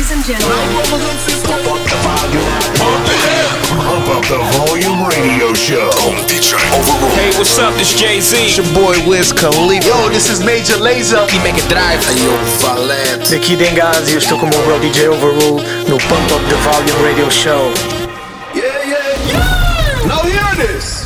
Ladies and gentlemen, Pump up the volume radio show. Hey, what's up? This Jay-Z. It's your boy Wiz Khalifa. Yo, this is Major Lazer. E Mega Drive. Aí eu Valente. Daqui Dengazi, eu estou com o meu bro DJ Overrule no Pump Up the Volume Radio Show. Yeah. Now hear this.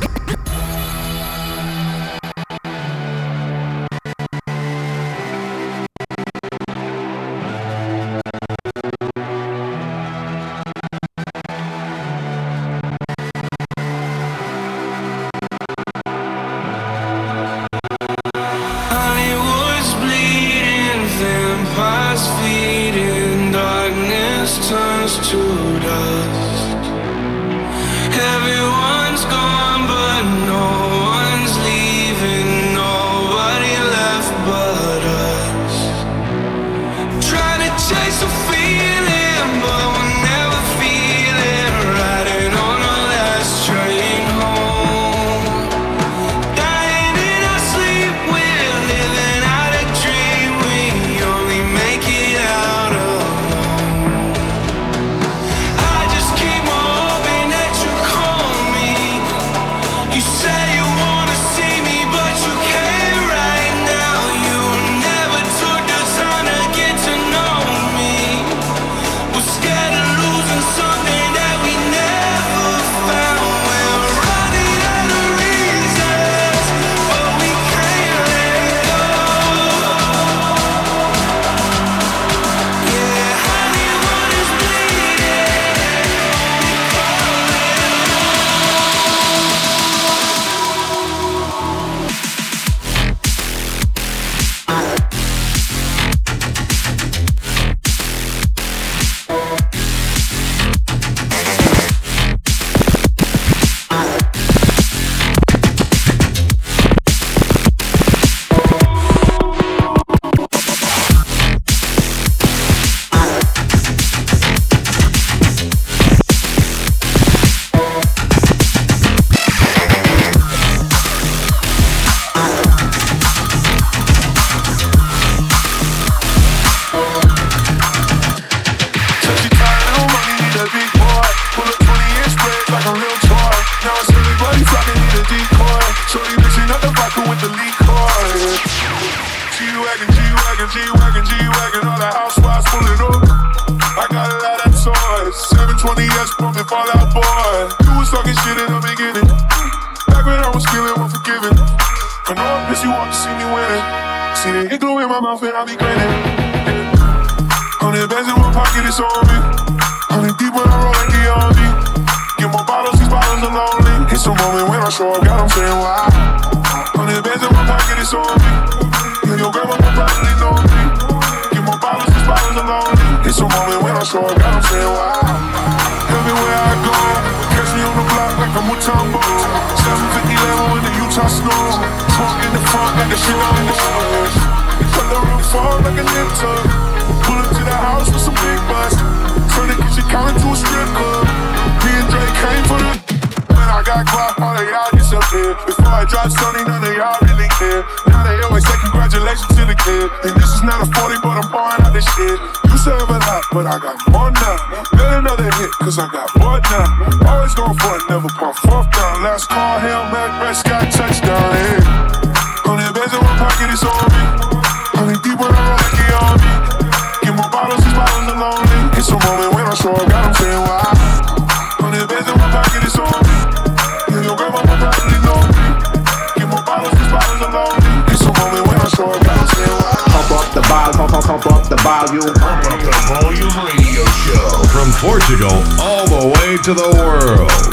G-Wagon, all the housewives pulling up. I got a lot of toys, 720S pumping Fallout Boy. You was talking shit in the beginning, back when I was feeling unforgiving. I know I miss you want to see me winning. See the hit glue in my mouth and I be grinning. 100 bands in one pocket, it's on me. 100 deep when I roll like the RV. Get more bottles, these bottles are lonely. It's a moment when I show up, God, I'm saying why. 100 bands in one pocket, it's on me. Yeah, your grandma will probably know me. Get more bottles, these bottles are lonely. It's a moment when I show up, God, I'm saying why. Everywhere I go, catch me on the block like I'm Mutombo. 750 level in the Utah snow. Trunk in the front like the shit on the shoulders. Cut the roof off like a nip tuck. Pull up to the house with some big butts. Turn the kitchen counter to a strip club. Me and Dre came for the. When I got caught, all of y'all disappeared. Before I dropped Sony, none of y'all really care. Now they always say congratulations to the kid. And this is not a 40, but I'm pouring out this shit. You serve a lot, but I got more now. Get another hit, cause I got more now. Always going for it, never pump fourth down. Last call, Hail Mary, Prescott, touchdown, yeah. 100 bands in one pocket, it's on me. 100 deep when I roll like the army. Get more bottles, these bottles are lonely. It's a moment when I show up, God, I'm saying why. 100 bands in one pocket, it's on me. Yeah, your grandma will probably know me. Get more bottles, these bottles are lonely. It's a moment when I show up, God, I'm saying why. Pump up the volume, pump up the volume. Pump up the volume radio show. From Portugal all the way to the world.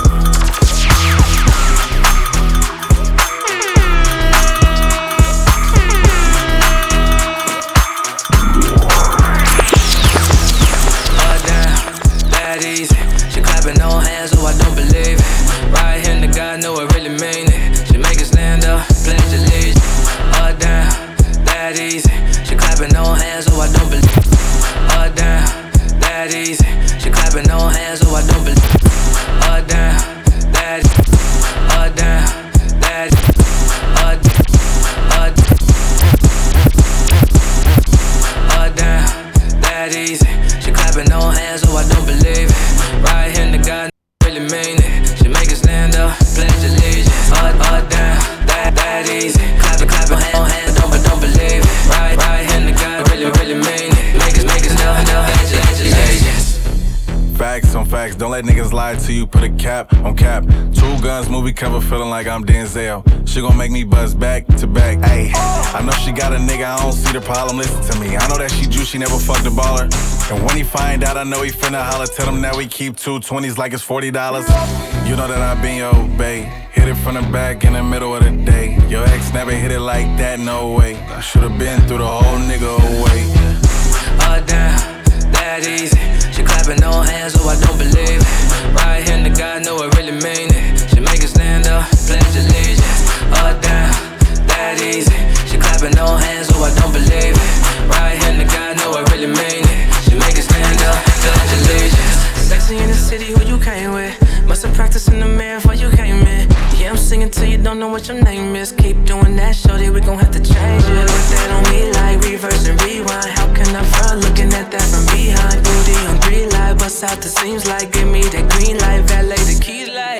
She clapping no hands, so I don't believe it. Right here, the guy know I really mean it. She make it stand up, pledge allegiance. Down, that easy. She clapping no hands, so I don't believe it. Down, that easy. She clapping no hands, so I don't believe it. Down, I don't believe it. Right hand to God, really mean it. She make us stand up, pledge allegiance. All down, that easy. Clap hands, don't believe it. Right hand to God, really mean it. Make us stand up, pledge allegiance. Facts on facts, don't let niggas lie to you, put a cap on cap. True Guns movie cover, feeling like I'm Denzel. She gon' make me buzz back to back, ayy. I know she got a nigga, I don't see the problem, listen to me. I know that she juice, she never fucked a baller. And when he find out, I know he finna holler. Tell him that we keep 2 20s like it's $40. You know that I been your bae. Hit it from the back in the middle of the day. Your ex never hit it like that, no way. I should've been through the whole nigga away. All down, that easy. She clapping no hands, oh I don't believe it. Right hand to God, know I really mean it. She make us stand up, pledge allegiance. All down, that easy. She clapping no hands, oh I don't believe it. Right hand to God, know I really mean it. She make us stand up, pledge allegiance. Sexy in the city, who you came with? Must've practiced in the mirror before you came in. Yeah, I'm singing till you don't know what your name is. Keep doing that, shorty, we gon' have to change it. Put that on me like reverse and rewind. How can I front looking at that from behind? Booty on 3 light, bust out the seams like give me that green light, valet the keys like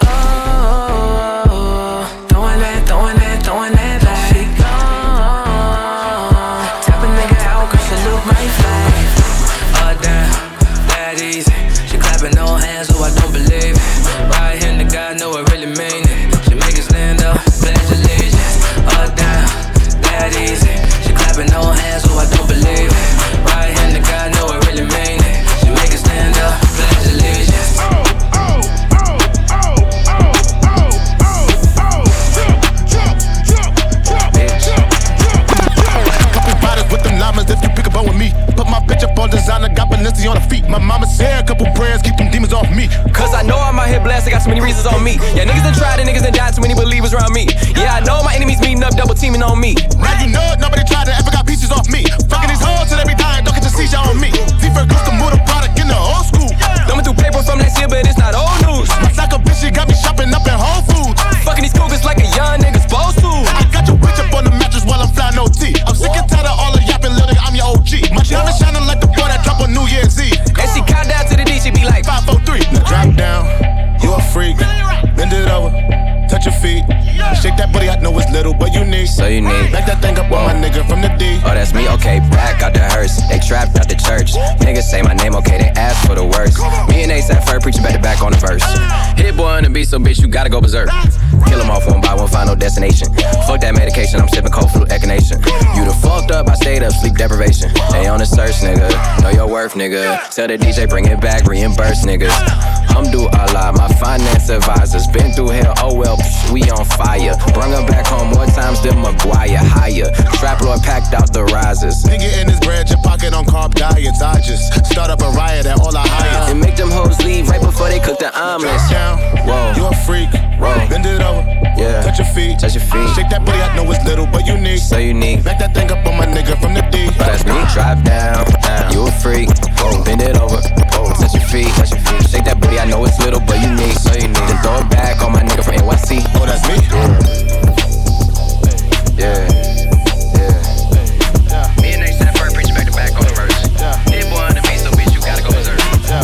throwing that back. She gone, tap a nigga out 'cause she look my flag. Down, that easy. She clapping no hands, oh I don't believe it. Right hand to God, know I really mean it. She make us stand up, pledge allegiance. Down, that easy. She clapping no hands, oh I don't believe it. Right hand to God, know I really mean it. She make us stand up, pledge allegiance. Couple bottles with them llamas if you pick up on with me. Put my bitch up on designer, got Balenciaga on her feet. My mama said a couple prayers, keep them demons off me. Cause I know I'm out here blessed, I got too many reasons on me. Yeah, niggas done tried and niggas done died, too many believers around me. Yeah, I know my enemies meeting up, double teaming on me. Now you know it, nobody tried to ever got pieces off me. Fucking these hoes till they be dying, don't get your seizure on me. D-Ferg used to move the product in the old school. Thumbing through paper from last year, but it's not old news. My psycho bitch, she got me shopping up in Whole Foods. Fucking these cougars like a young nigga supposed to. I got your bitch up on the mattress while I'm flying OT. I'm sick and tired of all the yapping, little nigga, I'm your OG. My diamond shining like the boy that drop on New Year's Eve. And she count down to the D, she be like 5, 4, 3. Now drop down, you a freak. Bend it over, touch your feet. Shake that booty, I know it's little, but unique. So unique. Back that thing up on my nigga from the D. Oh, that's me, okay, back out the hearse. They trapped out the church. Niggas say my name, okay, they ask for the worst. Me and A$AP Ferg preaching back to back on the verse. Hit boy on the beat, so bitch, you gotta go berserk. Kill them off one by one, final destination. Fuck that medication, I'm sipping cold flu echinacea. You done fucked up, I stayed up, sleep deprivation. They on the search, nigga, know your worth, nigga. Tell the DJ, bring it back, reimburse, niggas. Allah, my finance advisors. Been through hell, oh well, we on fire. Bring them back home more times than Maguire. Higher, Trap Lord packed out the risers. Nigga in his bread, your pocket on carb diets. I just start up a riot at all I hire. And make them hoes leave right before they cook the omelets. Whoa, you a freak. Whoa, bend it over. Yeah, touch your feet. Touch your feet. Shake that booty, I know it's little but unique. So unique. Back that thing up on my nigga from the D. Oh, that's me. Drop down. You a freak. Whoa, bend it over. Whoa, touch your feet. Touch your feet. Shake that booty, I know it's little but unique. So unique. Then throw it back on my nigga from NYC. Oh, that's me. Yeah. Me and A$AP Ferg preaching back to back on the verse. Hit boy on the beat, so bitch, you gotta go berserk.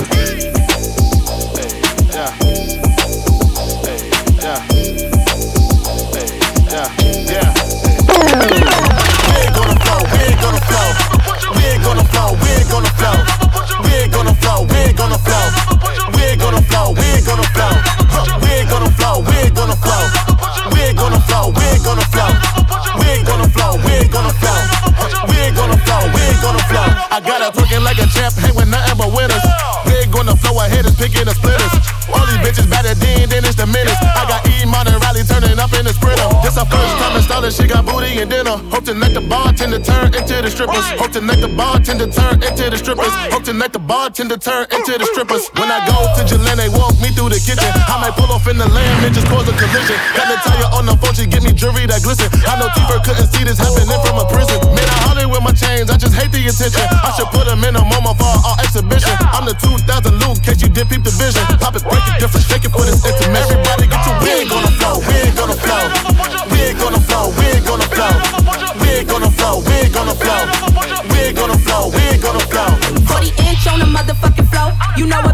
I got her twerking like a champ, hang with nothing but winners. Big on the floor, I hit us picking the splitters. All these bitches better then it's the minutes. I got E-Mon and Riley turning up in the Sprinter. This her first time installing, she got booty and dinner. Hope tonight the bartender turn into the strippers. Hope tonight the bartender turn into the strippers. Hope tonight the bartender turn into the strippers. When I go to Jalen, they walk me through the kitchen. I might pull off in the lamb and just cause a collision. Got Natalia on the phone, she give me jewelry that glisten. I know T-Ferg couldn't see this happening from a prison. Man, I hollered with my chains, I just hate the attention. I should put them in a MoMA for our exhibition. I'm the 2000 Luke, case you did peep the vision. Pop it, break it different, shake it for this intermission. Everybody get your wig on the floor, wig on the floor. Wig on the floor, wig on the floor. Wig on the floor, wig on the floor. Wig on the floor, wig on the floor. 40 inch on the motherfucking floor. You know what?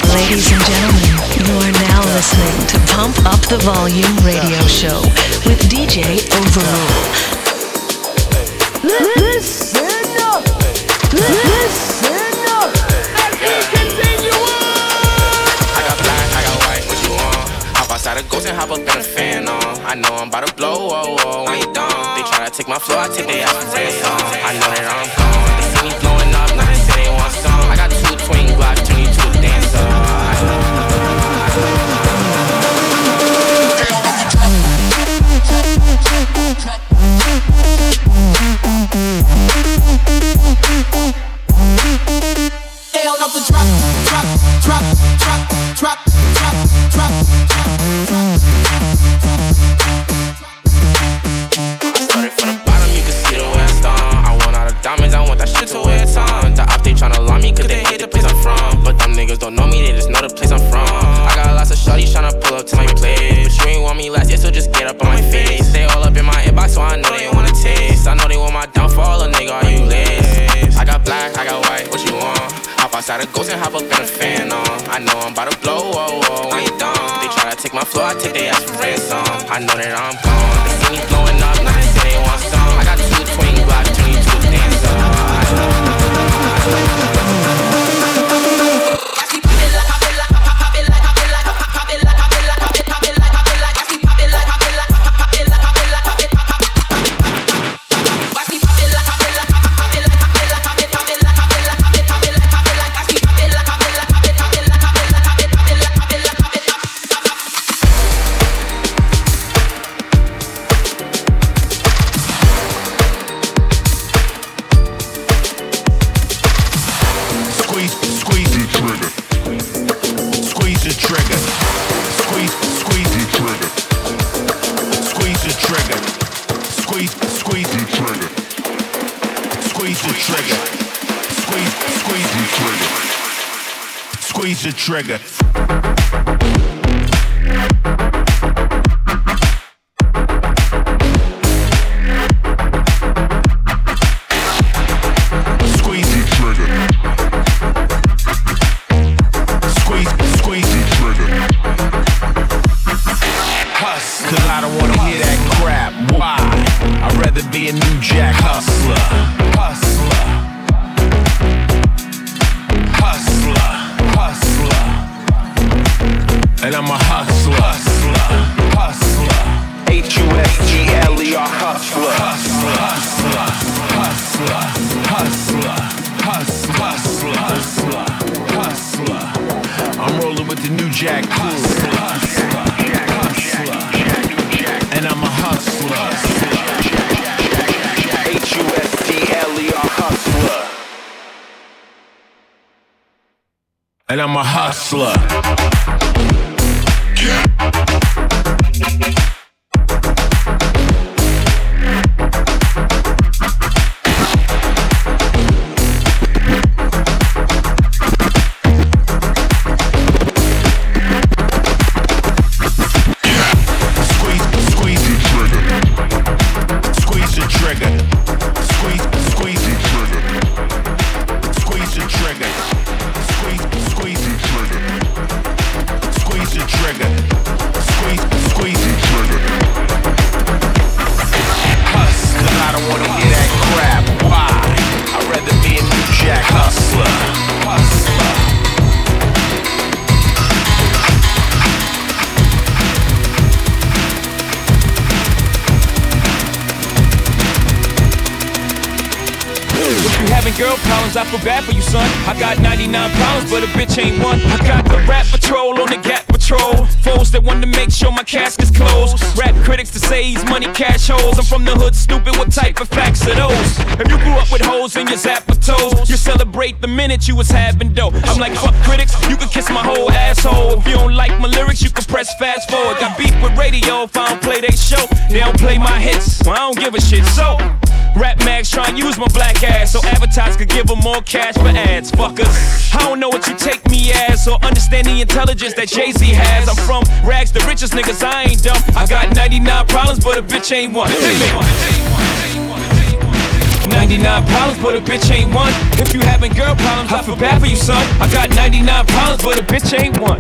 Ladies and gentlemen, you are now listening to Pump Up the Volume radio show with DJ Overrule. Listen up! Listen up! As we continue on! I got black, I got white, what you want? Hop outside a ghost and hop up in a fan on. I know I'm about to blow, whoa, whoa, when you done. They try to take my flow, I take their ass for ransom. I know that I'm gone. They see me blowing up, now they say they want some. I got 2 twin Glocks, turn you to a dancer. They don't know the drop, drop, drop, drop, drop, drop, drop, I started from the bottom, you can see the way I start. I want all the diamonds, I want that shit to wear it's on. The op, they tryna lie me cause they hate the place I'm from. But them niggas don't know me, they just know the place I'm from. I got lots of shorties tryna pull up to my place, but you ain't want me last year, so just get up on my face. They all up in my inbox, so I know they wanna taste. I know they want my downfall, a nigga, are you late? I got black, I got white, what you want? Hop outside a ghost and hop up in a fan on. I know I'm about to blow, whoa, whoa, when you done. They try to take my flow, I take their ass for ransom. I know that I'm gone. They see me blowing up, now they say they want some. I got 2 twin Glocks, turn you to a dancer. Squeeze the trigger. And I'm a hustler. I feel bad for you, son. I got 99 problems, but a bitch ain't one. I got the rap patrol on the Gap Patrol. Foes that want to make sure my casket's closed. Rap critics to say he's money cash holes. I'm from the hood, stupid. What type of facts are those? If you grew up with holes in your zapper toes, you celebrate the minute you was having dough. I'm like, fuck critics, you can kiss my whole asshole. If you don't like my lyrics, you can press fast forward. Got beef with radio if I don't play they show. They don't play my hits, well I don't give a shit. So rap mags try and use my black ass so advertisers could give them more cash for ads. Fuckers, I don't know what you take me as or understand the intelligence that Jay-Z has. I'm from rags, the richest niggas, I ain't dumb. I got 99 problems, but a bitch ain't one. 99 problems, but a bitch ain't one. If you having girl problems, I feel bad for you, son. I got 99 problems, but a bitch ain't one.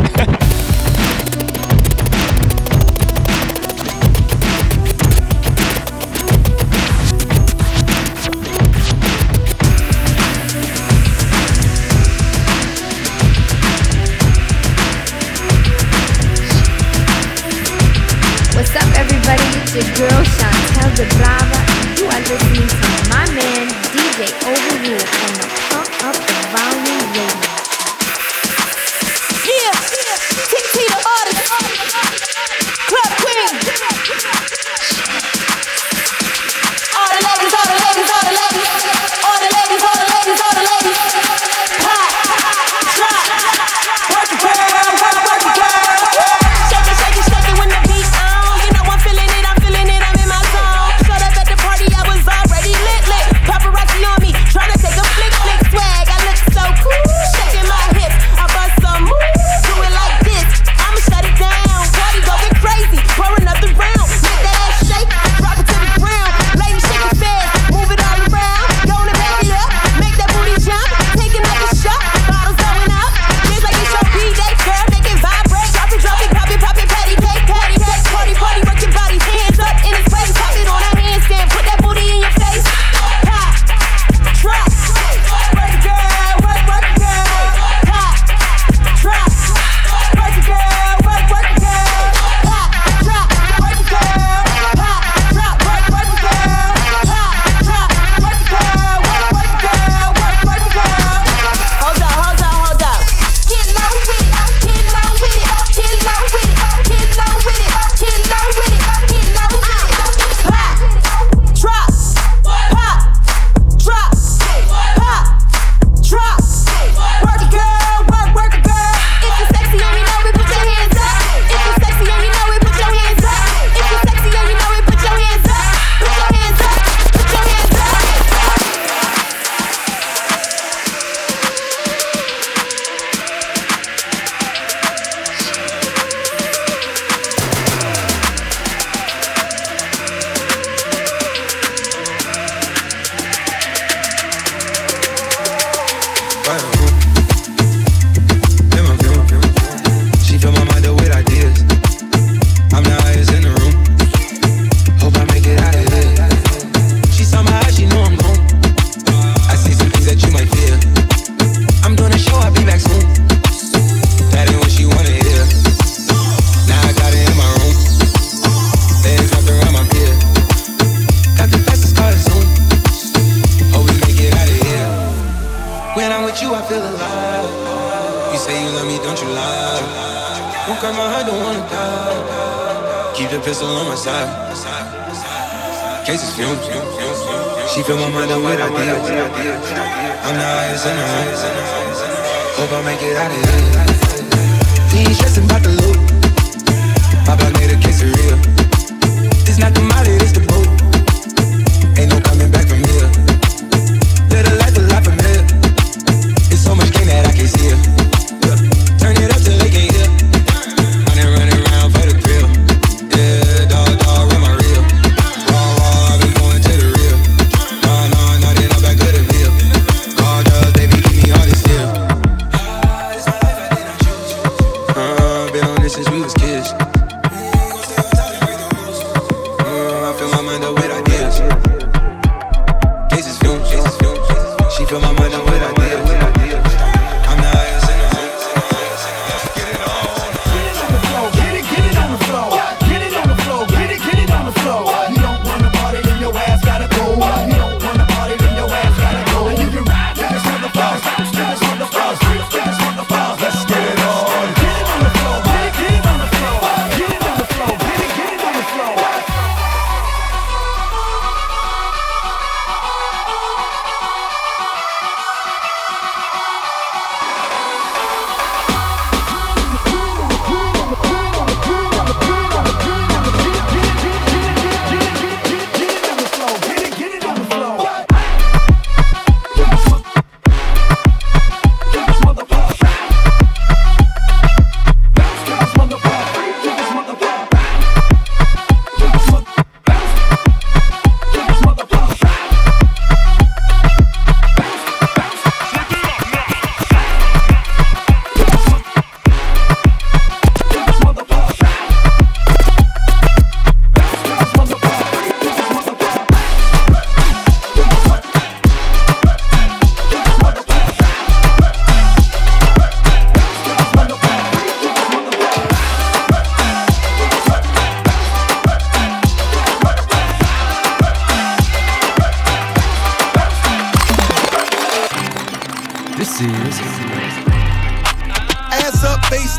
What's up, everybody? It's your girl Chantel the Brava, and you are listening to my man DJ Overrule on the Pump Up the Volume Radio. Yeah, TT the artist, Club Queen. All the ladies, all the ladies, all the ladies, all the ladies, all the ladies, all the ladies. Pop, drop, work it, girl, work it, girl. Shake it, shake it, shake it when the beat on. You know I'm feeling it, I'm in my zone. Showed up at the party, I was already lit. Paparazzi on me, tryna take a flick, swag. I look so cool, shaking my hips. I bust some moves, do it like this. I'ma shut it down. Party going crazy, pour another round. Make that ass shake, drop it to the ground. Ladies shake it fast, move it all around. Go to back it up, make that booty jump. Take another shot, bottles going up. Feels like it's your B-day, girl, make it vibrate. Drop it, pop it, patty cake, party, work your body, hands up in his face. Pop it on a handstand, put that booty in your face. Pop, drop, work it, girl, work it, girl. Pop, drop, work it, girl, work it, girl. Pop, drop, work it, girl. Pop, drop, work it, girl. Pop, drop, work it, girl, work it, girl, work it, girl. Hold up. Get low with it, get low with it, get low with it, get low with it, get low with it, get low with it. Pop, drop, pop, drop, pop, drop. Work it, girl, work it, girl. If you're sexy and you know it, put your hands up. If you're sexy and you know it, put your hands up. If you're sexy and you know it, put your hands up. Put your hands up, put your hands up. She fill my mind up with ideas. I'm the highest in the room. Hope I make it out of here. She somehow she know I'm gone. I see some things that you might fear. I'm doing a show, I'll be back soon. That ain't what she wanna hear. Now I got it in my room. Legs wrapped around my beard. Got the fastest car soon. Hope we make it out of here. When I'm with you, I feel alive. You say you love me, don't you lie? Won't cry my heart, don't wanna die. Keep the pistol on my side. Cases fumes. She fill my mind up with ideas. I'm the highest in the room. Hope I make it out of here. We ain't stressing about the loot. My blood made a case of real. It's not the molly, it's the boat. Ain't no coming back from here. Live the life a lot familiar. It's so much gain that I can't see it. Turn it up till they can't hear. Running around for the thrill. Yeah, dog, run my reel. Raw, I've been going to the real. No, they not back of the bill. Call drugs, baby, keep me hard and still. Been on this since we was kids. I fill my mind up with ideas. Cases fumes. She fill my mind up with ideas. I'm the highest in the room. Get it on. Get it on the floor. Get it on the floor. Get it on the floor. Get it on the floor. You don't wanna party, then your ass gotta go. You don't wanna party, then your ass gotta go. And you can ride to this wonderful. This wonderful. This wonderful. Let's get it on. Get it on the floor. Get it on the floor.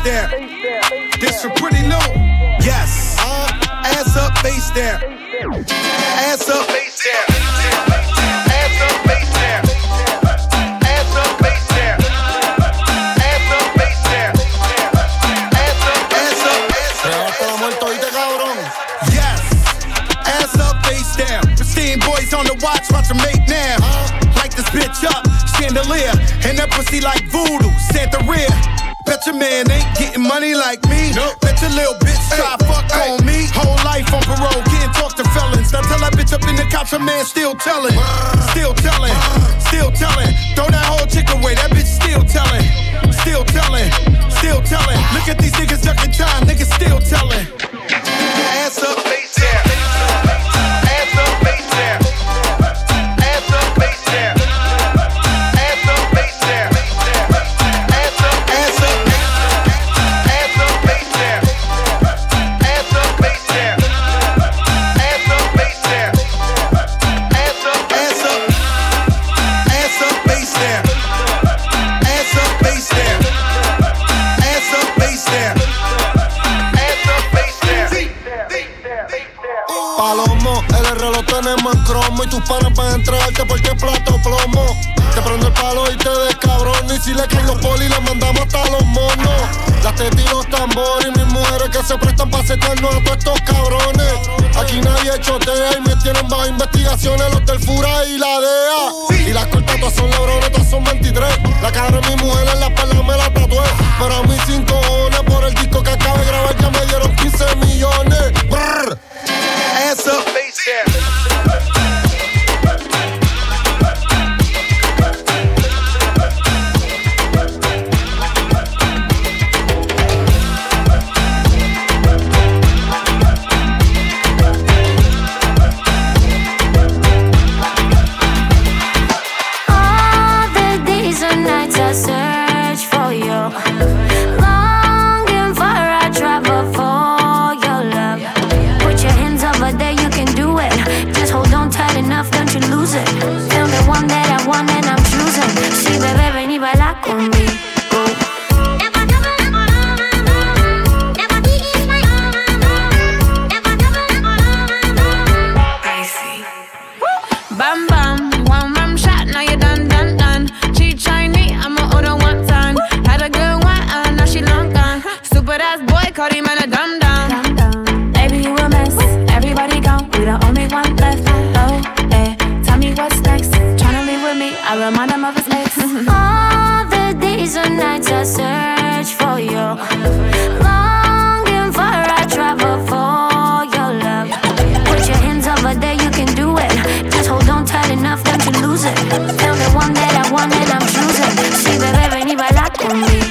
there. This for Pretty Lou. Yes. Ass up, face there. Ass up, face there. Ass up, face there. Ass up, face there. Ass up, face there. Ass up, ass up. Yes. Ass up, face down. Pristine boys on the watch them make now. Light this bitch up, chandelier. And that pussy like voodoo, Santa Rear. Bet your man ain't getting money like me. Nope. Bet your little bitch try fuck on me. Whole life on parole, can't talk to felons. Now tell that bitch up in the cops, her man still telling. Still telling, still telling. Throw that whole chick away, that bitch still telling. Still telling, still telling. Look at these niggas ducking time, niggas still telling. Ass up, face down. Ass up, face down. Ass up, face down. Ass up, face down. Ass up, ass up. Ass up, face down. Ass up, face down. Ass up, face down. Ass up, ass up. Ass up, face down. Ass up, face down. Ass up, face down. Ass up, face down. Palomo, el reloj tenemos en cromo y tus panas van a entregarte porque es plato plomo. Te prendo el palo y te descabrono y si le caen los polis les mandamos hasta los monos. Las tetas y los tambores y mis mujeres que se prestan para setearnos a todos estos cabrones. Aquí nadie chotea y me tienen bajo investigaciones los del Fura y la DEA. Y las cortas todas son lebrones, todas son 23. La cara de mi mujer en la espalda me la tatué. Pero a mí 5 cojones por el disco que acabo de grabar ya me dieron 15 millones. Brr. Ass up, face down. All the days and nights I search for you, longing for I travel for your love. Put your hands over there, you can do it. Just hold on tight enough, don't you lose it. Feel the one that I want and I'm choosing. Sí, bebé, ven y baila conmigo. Bam bam, one rum shot, now you done. Cheat Chinese, I'ma order one time. Had a good one, now she long gone. Stupid ass boy, called him a dumb dumb. Baby, you a mess. Everybody gone, we the only one left. Oh, eh, tell me what's next. Tryna leave with me, I remind him of his ex. All the days and nights I search for you, longing for I travel for your love. Put your hands over there, you can do it. Just hold on tight enough, don't you lose it. Feel the one that I want and I'm choosing. Sí, bebé, ven y baila conmigo.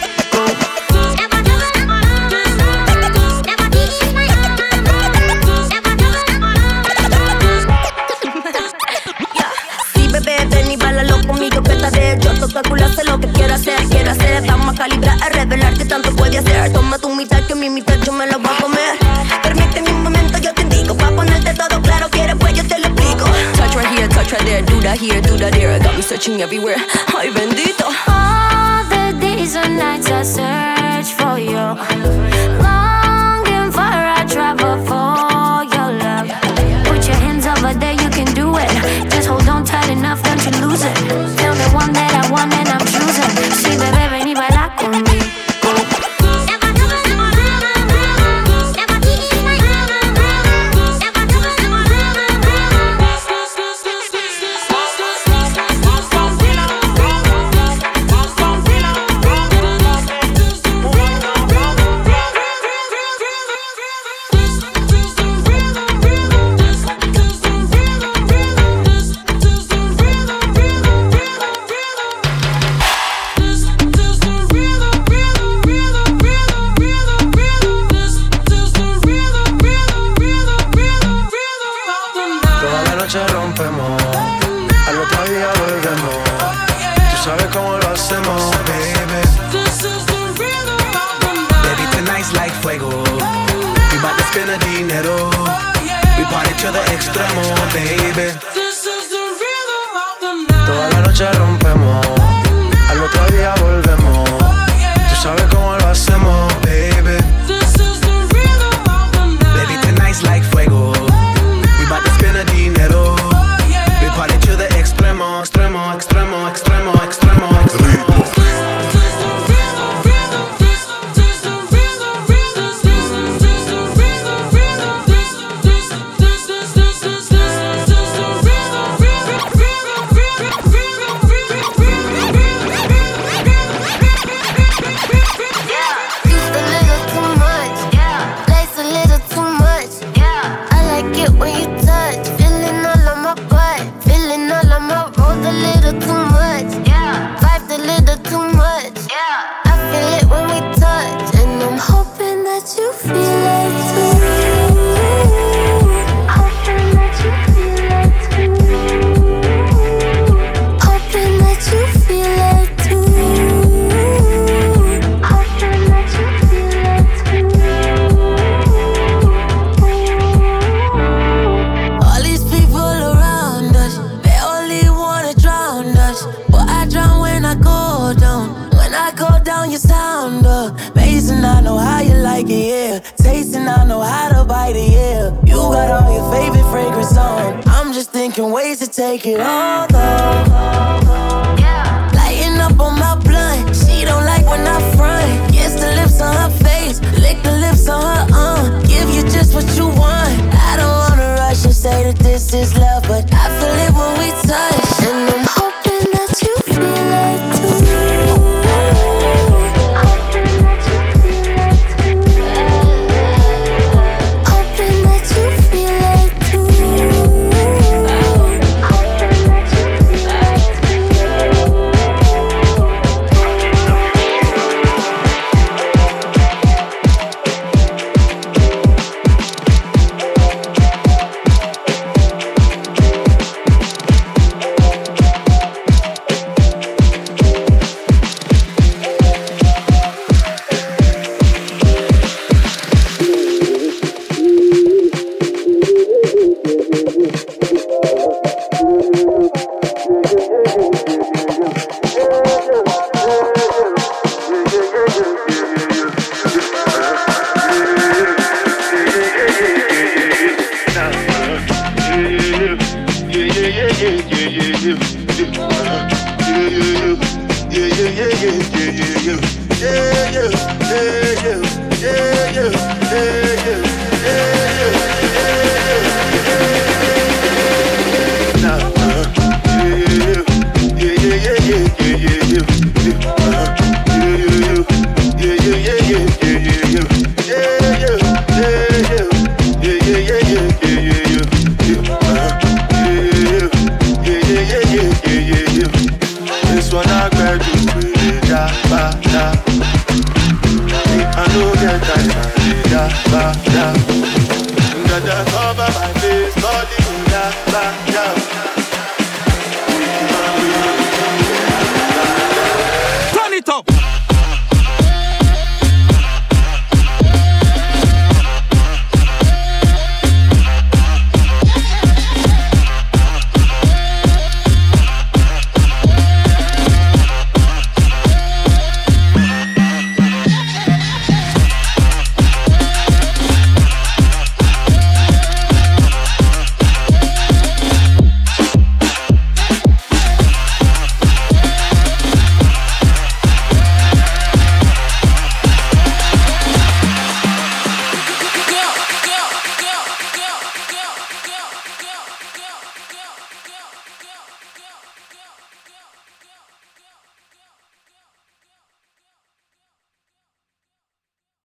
Sí, bebé, ven y bailalo conmigo, que tal vez yo toco el culo, sé lo que quiero hacer. Vamos a calibrar, a revelar qué tanto puede hacer. Toma tu mitad, que mi mitad yo me lo voy a comer. Permíteme un momento, yo te indico, pa' ponerte todo claro, quieres pues yo te lo explico. Touch right here, touch right there. Do that here, do that there. Got me searching everywhere. Ay, bendito. All the days and nights I search for you, longing for I travel for your love. Put your hands over there, you can do it. Just hold on tight enough, don't you lose it. Feel the one that I want and I'm choosing. Sí, bebé, ven y baila conmigo. sabes cómo lo hacemos, baby. This is the rhythm of the night. Baby, tonight's like fuego. We bout to spend a dinero. We party to the extremo, extremo, extremo, extremo, extremo, extremo. Ways to take it all though. Lighting up on my blunt. She don't like when I front. Kiss the lips on her face, lick the lips on her give you just what you want. I don't wanna rush and say that this is love, but I feel it when we touch. And I'm hoping that you feel it too. This one I grab you with ya, ba, da. I know that I da, ba, da.